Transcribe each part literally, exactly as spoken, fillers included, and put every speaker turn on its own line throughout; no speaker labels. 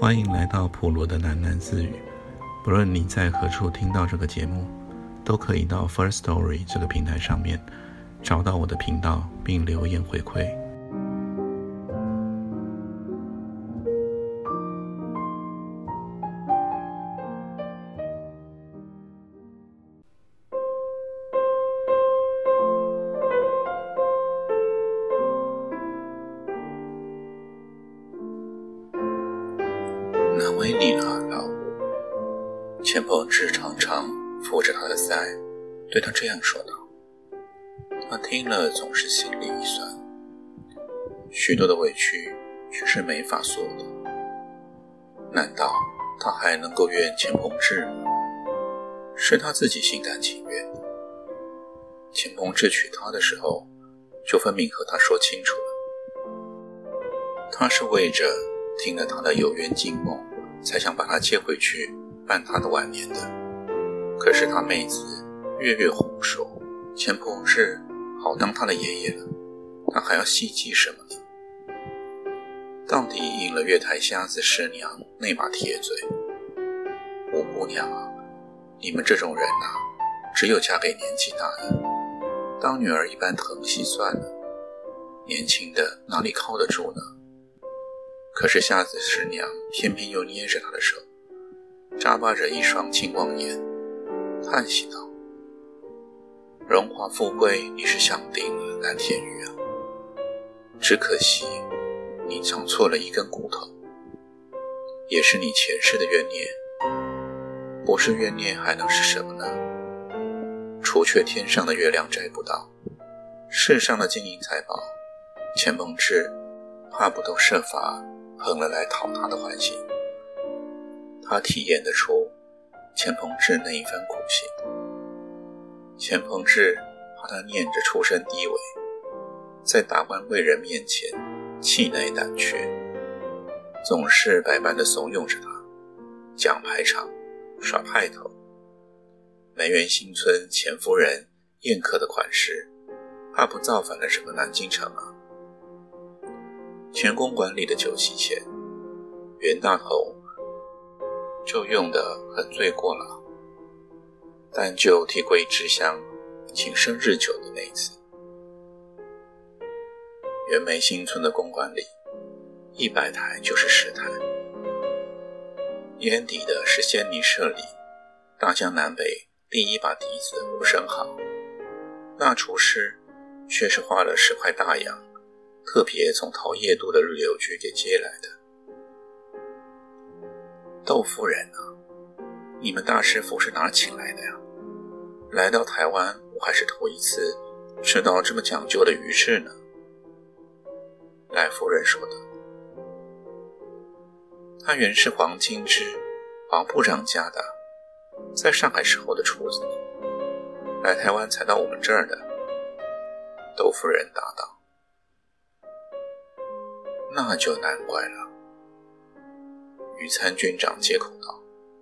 欢迎来到普罗的喃喃自语。不论你在何处听到这个节目，都可以到 First Story 这个平台上面找到我的频道并留言回馈。难为你了，老吴。钱鹏志常常扶着他的腮，对他这样说道。他听了总是心里一酸，许多的委屈却是没法说的。难道他还能够怨钱鹏志吗？是他自己心甘情愿的。钱鹏志娶她的时候，就分明和他说清楚了，他是为着听了他的有缘惊梦，才想把他接回去办他的晚年的。可是他妹子月月哄说，钱鹏志好当他的爷爷了，他还要希冀什么呢？到底应了月台瞎子师娘那把铁嘴。吴姑娘啊，你们这种人啊，只有嫁给年纪大的，当女儿一般疼惜算了，年轻的哪里靠得住呢？可是瞎子师娘偏偏又捏着他的手，眨巴着一双青光眼，叹息道：荣华富贵你是享定了，蓝天玉啊，只可惜你长错了一根骨头，也是你前世的冤孽。不是冤孽还能是什么呢？除却天上的月亮摘不到，世上的金银财宝，钱鹏志怕不都设法碰了来讨他的欢心。他体验得出钱鹏志那一番苦心。钱鹏志怕他念着出身低微，在达官贵人面前气馁胆怯，总是百般的怂恿着他讲排场耍派头。梅园新村钱夫人宴客的款式，怕不造反了整个南京城啊。钱公馆里的酒席钱，袁大头就用得很醉过了，但就替桂枝香请生日酒的那一次。袁梅新村的公馆里，一百台就是十台，烟底的是仙泥社里大江南北第一把笛子吴生豪，那厨师却是花了十块大洋，特别从桃叶渡的日柳居给接来的。窦夫人啊，你们大师傅是哪请来的呀？来到台湾，我还是头一次吃到这么讲究的鱼翅呢。赖夫人说的。他原是黄金之黄部长家的，在上海时候的厨子，来台湾才到我们这儿的。窦夫人答道。那就难怪了。余参军长接口道。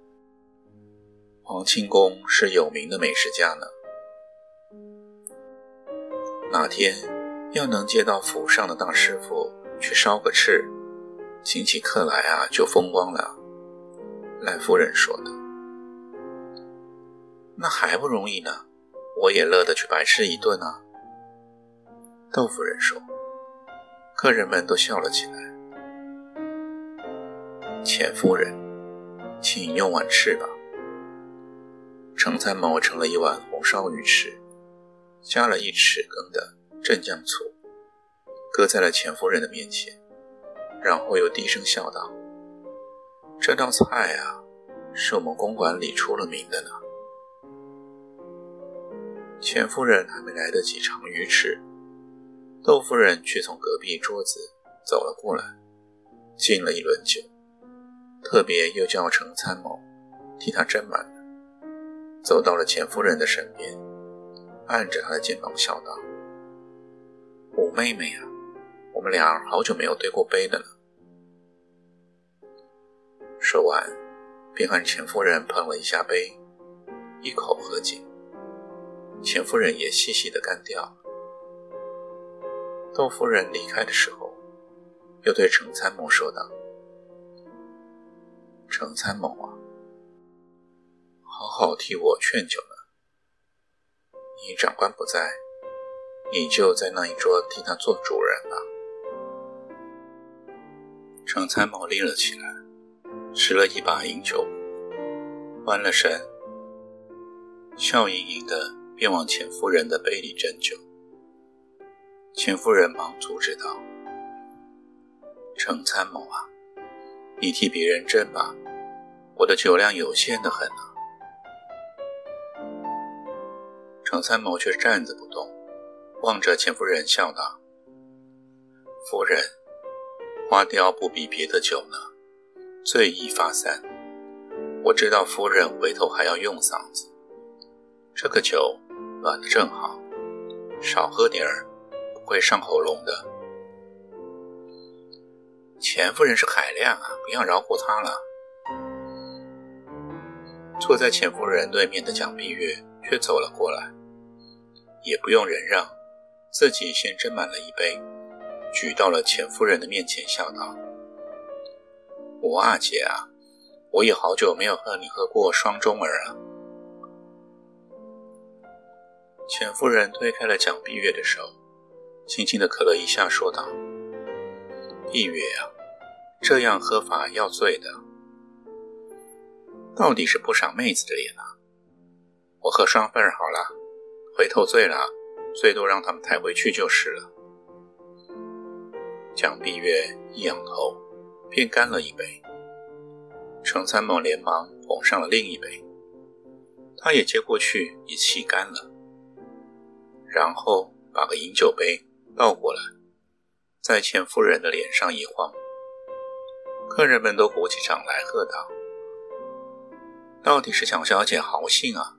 黄清公是有名的美食家呢，哪天要能接到府上的大师傅去烧个翅，请起客来啊，就风光了。赖夫人说的。那还不容易呢，我也乐得去白吃一顿啊。窦夫人说。客人们都笑了起来。钱夫人，请用碗翅吧。程参谋盛了一碗红烧鱼翅，加了一匙羹的镇酱醋，搁在了钱夫人的面前，然后又低声笑道：这道菜啊，是我们公馆里出了名的呢。钱夫人还没来得及尝鱼翅，窦夫人却从隔壁桌子走了过来，敬了一轮酒，特别又叫程参谋替他斟满了，走到了钱夫人的身边，按着她的肩膀笑道：吴妹妹啊，我们俩好久没有对过杯了呢。说完便和钱夫人碰了一下杯，一口喝尽，钱夫人也细细地干掉了。窦夫人离开的时候，又对程参谋说道： 程参谋啊，好好替我劝酒呢。你长官不在，你就在那一桌替他做主人吧。程参谋立了起来，拾了一把饮酒，弯了身，笑盈盈的便往钱夫人的杯里斟酒。钱夫人忙阻止道：程参谋啊，你替别人斟吧，我的酒量有限的很啊。程参谋却站着不动，望着钱夫人笑道：夫人，花雕不比别的酒呢，最易发散。我知道夫人回头还要用嗓子，这个酒暖得正好，少喝点儿不会上喉咙的。钱夫人是海量啊，不要饶过她了。坐在钱夫人对面的蒋碧月却走了过来，也不用忍让，自己先斟满了一杯，举到了钱夫人的面前，笑道：吴阿姐啊，我也好久没有和你喝过双钟儿了。钱夫人推开了蒋碧月的手，轻轻地咳了一下，说道：碧月啊，这样喝法要醉的，到底是不赏妹子的脸啊。我喝双份好了，回头醉了，最多让他们抬回去就是了。蒋碧月一仰头，便干了一杯。程参谋连忙捧上了另一杯，他也接过去，也沏干了，然后把个饮酒杯倒过来，在钱夫人的脸上一晃。客人们都鼓起掌来，喝道：到底是蒋小姐豪兴啊。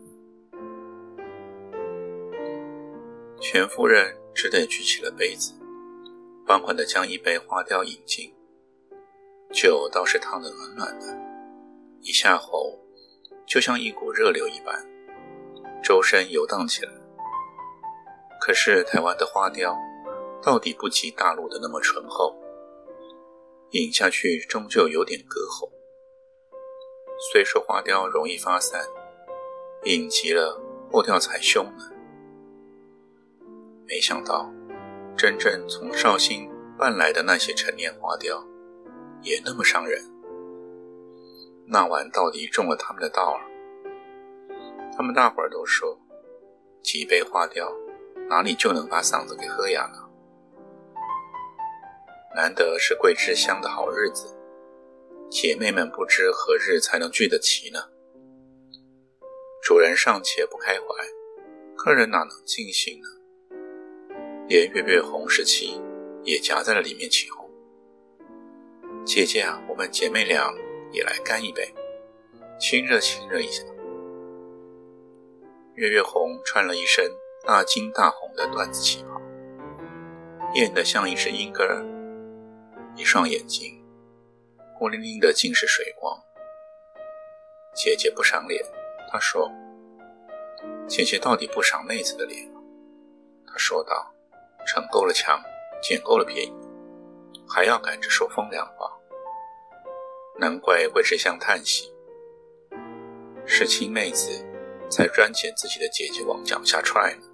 钱夫人只得举起了杯子，缓缓地将一杯花雕饮尽。酒倒是烫得暖暖的，一下喉就像一股热流一般，周身游荡起来。可是台湾的花雕到底不及大陆的那么醇厚，饮下去终究有点隔喉。虽说花雕容易发散，饮急了破掉才凶呢。没想到真正从绍兴搬来的那些陈年花雕也那么伤人。那晚到底中了他们的道儿。他们大伙儿都说，几杯花雕哪里就能把嗓子给喝哑了。难得是桂枝香的好日子，姐妹们不知何日才能聚得齐呢。主人尚且不开怀，客人哪能尽兴呢？连月月红时期也夹在了里面起哄。姐姐啊，我们姐妹俩也来干一杯，亲热亲热一下。月月红穿了一身大金大红的缎子旗袍，艳得像一只莺歌儿，一双眼睛孤零零的尽是水光。姐姐不赏脸，她说：姐姐到底不赏妹子的脸。她说道：逞够了强，捡够了便宜，还要赶着说风凉话。难怪桂枝香叹息，是亲妹子才专捡自己的姐姐往脚下踹呢。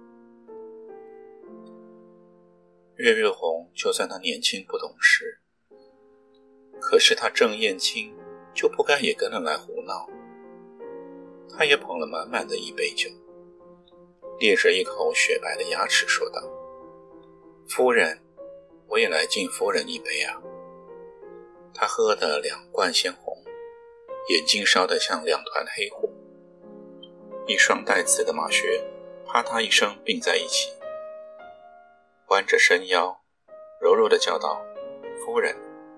月月红就算她年轻不懂事，可是她正燕青就不该也跟着来胡闹。她也捧了满满的一杯酒，咧着一口雪白的牙齿说道：夫人，我也来敬夫人一杯啊。她喝得两冠鲜红，眼睛烧得像两团黑火，一双带刺的马靴啪嗒一声并在一起，弯着身腰柔柔地叫道：夫人。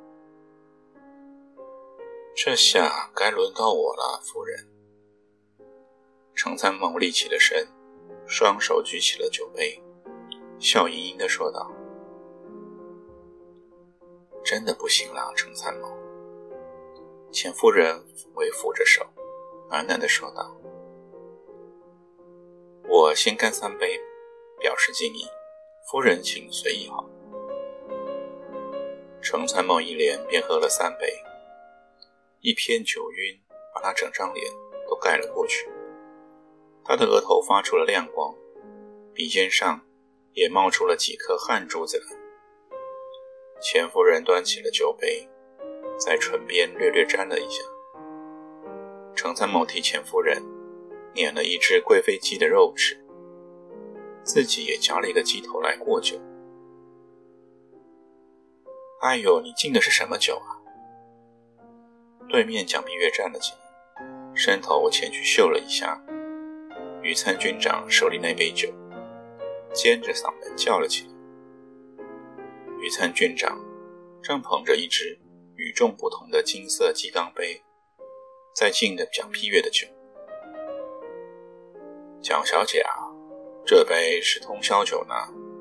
这下该轮到我了，夫人。程参谋立起了身，双手举起了酒杯，笑盈盈地说道：真的不行了，程参谋。钱夫人微抚着手，喃喃地说道：我先干三杯，表示敬意，夫人请随意好。程参谋一连便喝了三杯， 一片酒晕把他整张脸都盖了过去。他的额头发出了亮光，鼻尖上也冒出了几颗汗珠子来。钱夫人端起了酒杯，在唇边略略沾了一下。程参谋替钱夫人捻了一只贵妃鸡的肉吃，自己也夹了一个鸡头来过酒。哎呦，你敬的是什么酒啊？对面蒋碧月站了起来，伸头前去嗅了一下余参军长手里那杯酒，尖着嗓门叫了起来。余参军长正捧着一只与众不同的金色鸡缸杯，在敬着蒋碧月的酒。蒋小姐啊，这杯是通宵酒呢。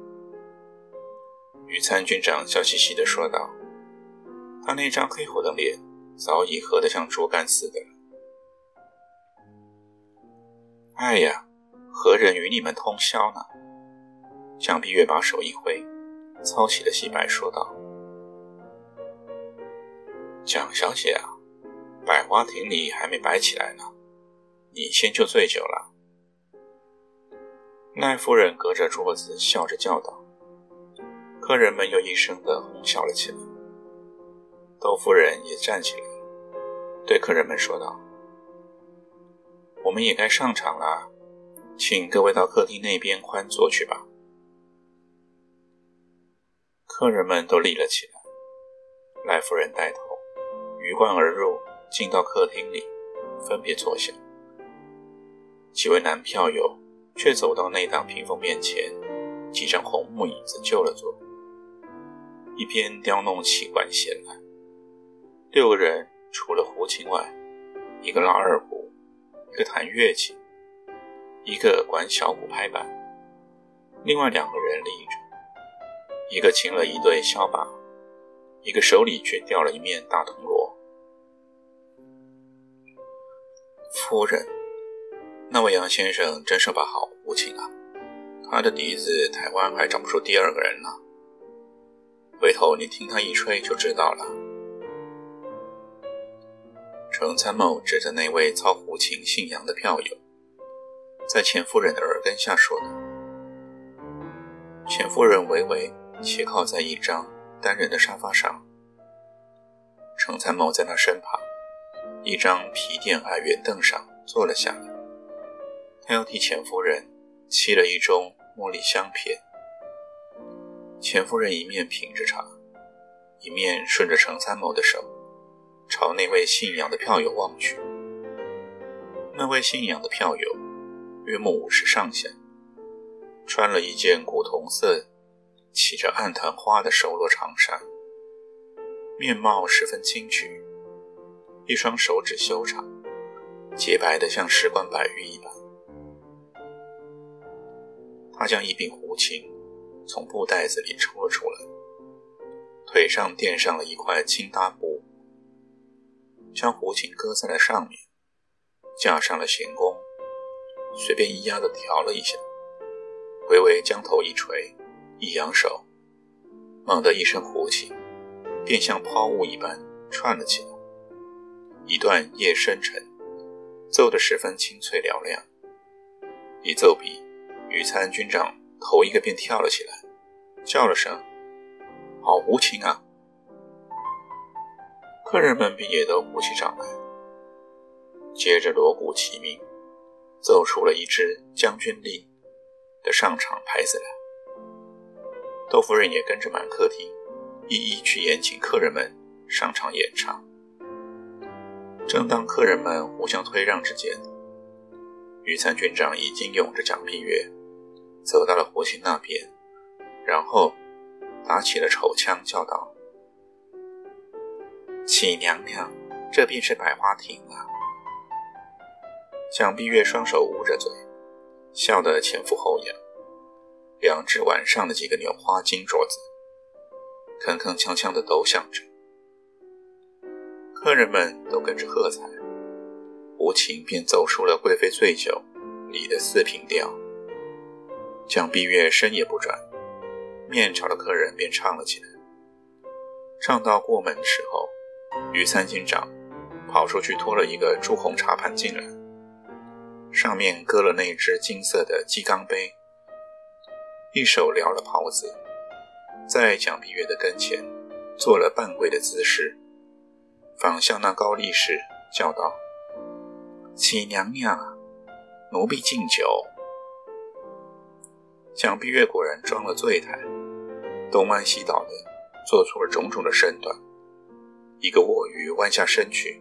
余参军长笑嘻嘻地说道，他那张黑虎的脸早已喝得像竹竿似的了。哎呀，何人与你们通宵呢？蒋碧月把手一挥，操起了戏白说道，蒋小姐啊，百花亭里还没摆起来呢，你先就醉酒了。赖夫人隔着桌子笑着叫道，客人们又一声地哄笑了起来。窦夫人也站起来，对客人们说道，我们也该上场了，请各位到客厅那边宽坐去吧。客人们都立了起来，赖夫人带头鱼贯而入，进到客厅里，分别坐下。几位男票友却走到那档屏风面前，几张红木椅子就了坐，一边叼弄起管弦来。六个人除了胡琴外，一个拉二胡，一个弹乐器，一个管小鼓拍板，另外两个人立着，一个擎了一对箫把，一个手里却吊了一面大铜锣。夫人，那位杨先生真是把好胡琴啊，他的笛子台湾还找不出第二个人呢，回头你听他一吹就知道了。程参谋指着那位操胡琴姓杨的票友，在钱夫人的耳根下说道。钱夫人微微斜靠在一张单人的沙发上，程参谋在他身旁一张皮垫矮圆凳上坐了下来，他要替钱夫人沏了一盅茉莉香片。钱夫人一面品着茶，一面顺着程参谋的手朝那位姓杨的票友望去。那位姓杨的票友约莫五十上下，穿了一件古铜色起着暗檀花的手裸长衫，面貌十分清癯，一双手指修长，洁白得像石棺白玉一般。他将一柄胡琴从布袋子里抽了出来，腿上垫上了一块轻搭布，将胡琴搁在了上面，架上了弦弓，随便一压地调了一下，微微将头一垂，一扬手，猛地一声胡琴便像抛物一般串了起来，一段夜深沉，奏得十分清脆嘹亮。一奏毕，余参军长头一个便跳了起来，叫了声好胡琴啊。客人们便也都鼓起掌来，接着锣鼓齐鸣，奏出了一支将军令的上场牌子来。窦夫人也跟着满客厅一一去宴请客人们上场演唱。正当客人们互相推让之间，余参军长已经拥着蒋碧月走到了胡琴那边，然后打起了手枪叫道，启娘娘，这便是百花亭啊。蒋碧月双手捂着嘴，笑得前俯后仰，两只碗上的几个纽花金镯子铿铿锵锵地抖响着。客人们都跟着喝彩，胡琴便奏出了贵妃醉酒里的四平调。蒋碧月身也不转，面朝着客人便唱了起来。唱到过门的时候，余参军长跑出去拖了一个朱红茶盘进来，上面搁了那只金色的鸡缸杯，一手撩了袍子，在蒋碧月的跟前做了半跪的姿势，仿效那高力士叫道：启娘娘，奴婢敬酒。蒋碧月果然装了醉态，东歪西倒的做出了种种的身段，一个卧鱼弯下身去，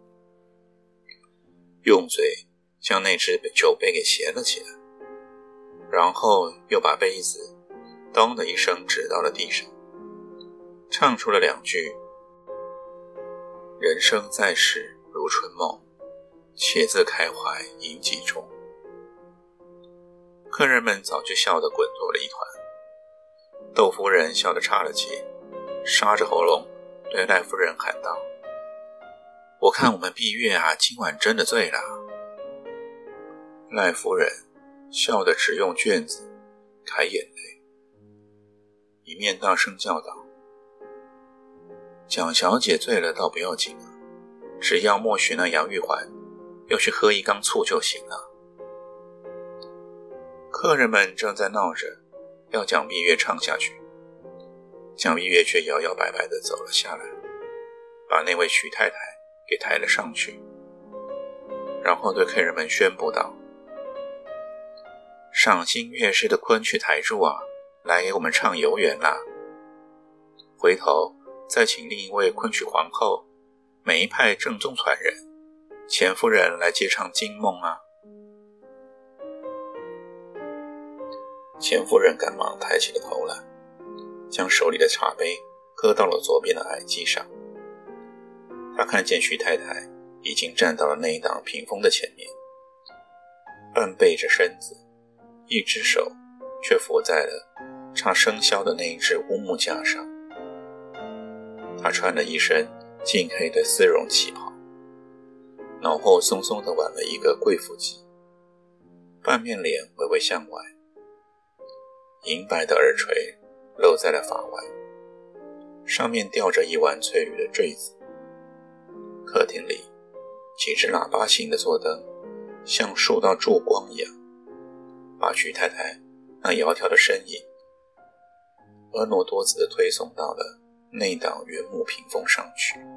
用嘴将那只酒杯给衔了起来，然后又把杯子咚的一声指到了地上，唱出了两句：人生在世如春梦，且自开怀饮几盅。客人们早就笑得滚作了一团，窦夫人笑得岔了气，沙着喉咙对赖夫人喊道：我看我们碧月啊，今晚真的醉了。赖夫人笑得只用卷子揩眼泪，一面大声叫道：蒋小姐醉了倒不要紧啊，只要默许那杨玉环要去喝一缸醋就行了。客人们正在闹着要蒋碧月唱下去，蒋碧月却摇摇摆摆地走了下来，把那位徐太太给抬了上去，然后对客人们宣布道：赏心悦事的昆曲台柱啊，来给我们唱游园啦，回头再请另一位昆曲皇后，每一派正宗传人钱夫人来接唱惊梦啊。钱夫人赶忙抬起了头来，将手里的茶杯搁到了左边的矮机上。她看见徐太太已经站到了那一档屏风的前面，半背着身子，一只手却扶在了插生肖的那一只乌木架上。她穿了一身净黑的丝绒旗袍，脑后松松地挽了一个贵妇髻，半面脸微微向外，银白的耳垂露在了发外，上面吊着一弯翠绿的坠子。客厅里几只喇叭形的座灯像数道烛光一样，把徐太太那窈窕的身影婀娜多姿地推送到了那档原木屏风上去。